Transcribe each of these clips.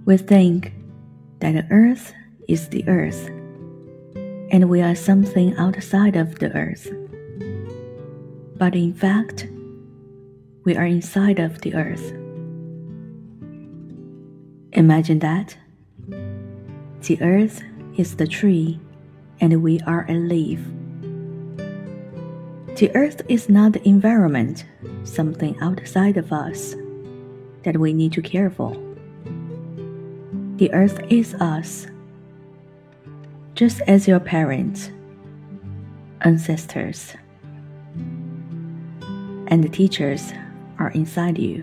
We think that the earth is the earth, and we are something outside of the earth. But in fact, we are inside of the earth. Imagine that. The earth is the tree, and we are a leaf. The earth is not the environment, something outside of us that we need to care for. The earth is us, just as your parents, ancestors, and the teachers are inside you.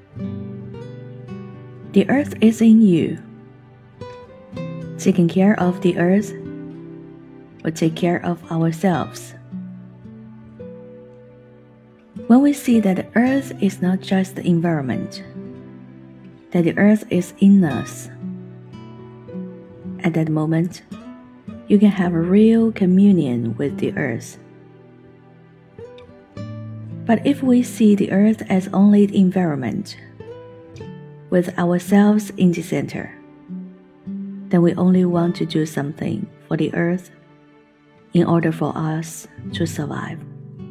The earth is in you. Taking care of the earth will take care of ourselves. When we see that the earth is not just the environment, that the earth is in us, at that moment, you can have a real communion with the earth. But if we see the earth as only the environment, with ourselves in the center, then we only want to do something for the earth in order for us to survive.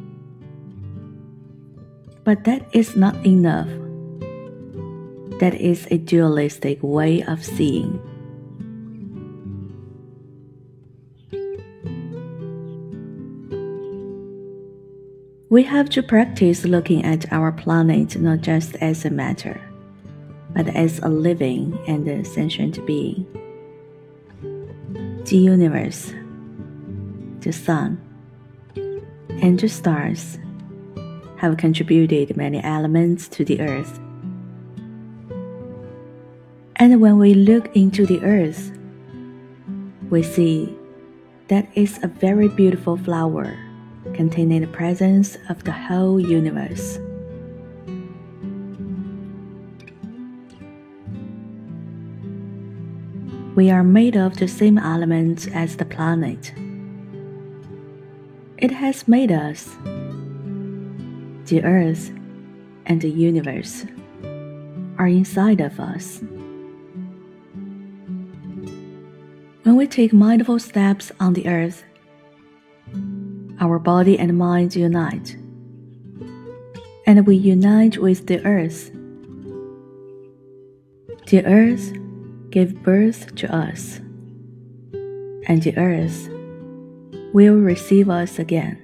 But that is not enough. That is a dualistic way of seeing. We have to practice looking at our planet not just as a matter, but as a living and a sentient being. The universe, the sun, and the stars have contributed many elements to the earth. And when we look into the earth, we see that it's a very beautiful flower containing the presence of the whole universe. We are made of the same elements as the planet. It has made us. The earth and the universe are inside of us. When we take mindful steps on the earth, our body and mind unite, and we unite with the earth. The earth gave birth to us, and the earth will receive us again.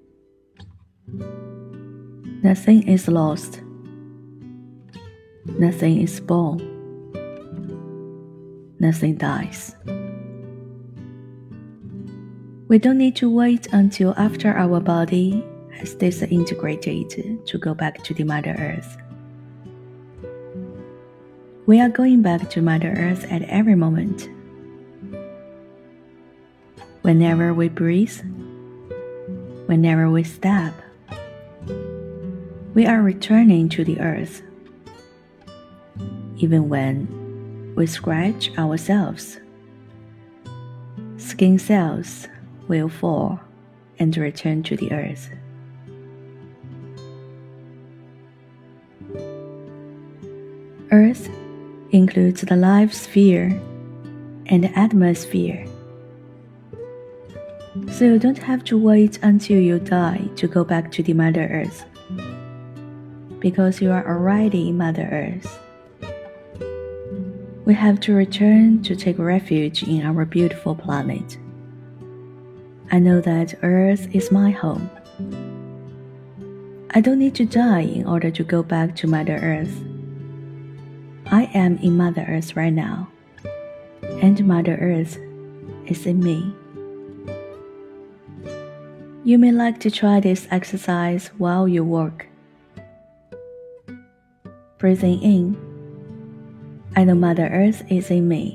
Nothing is lost. Nothing is born. Nothing dies. We don't need to wait until after our body has disintegrated to go back to the Mother Earth. We are going back to Mother Earth at every moment. Whenever we breathe, whenever we step, we are returning to the earth. Even when we scratch ourselves, skin cells will fall and return to the earth. Earth includes the life sphere and the atmosphere. So you don't have to wait until you die to go back to the Mother Earth, because you are already in Mother Earth. We have to return to take refuge in our beautiful planet. I know that Earth is my home. I don't need to die in order to go back to Mother Earth. I am in Mother Earth right now, and Mother Earth is in me. You may like to try this exercise while you work. Breathing in, I know Mother Earth is in me.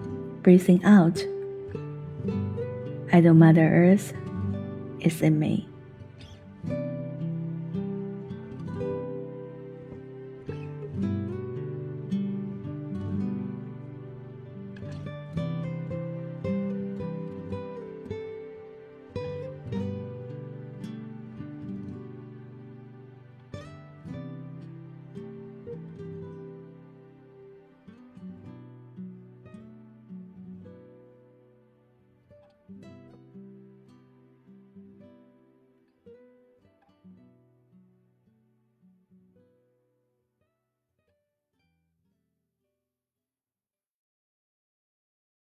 Breathing out, I know Mother Earth is in me.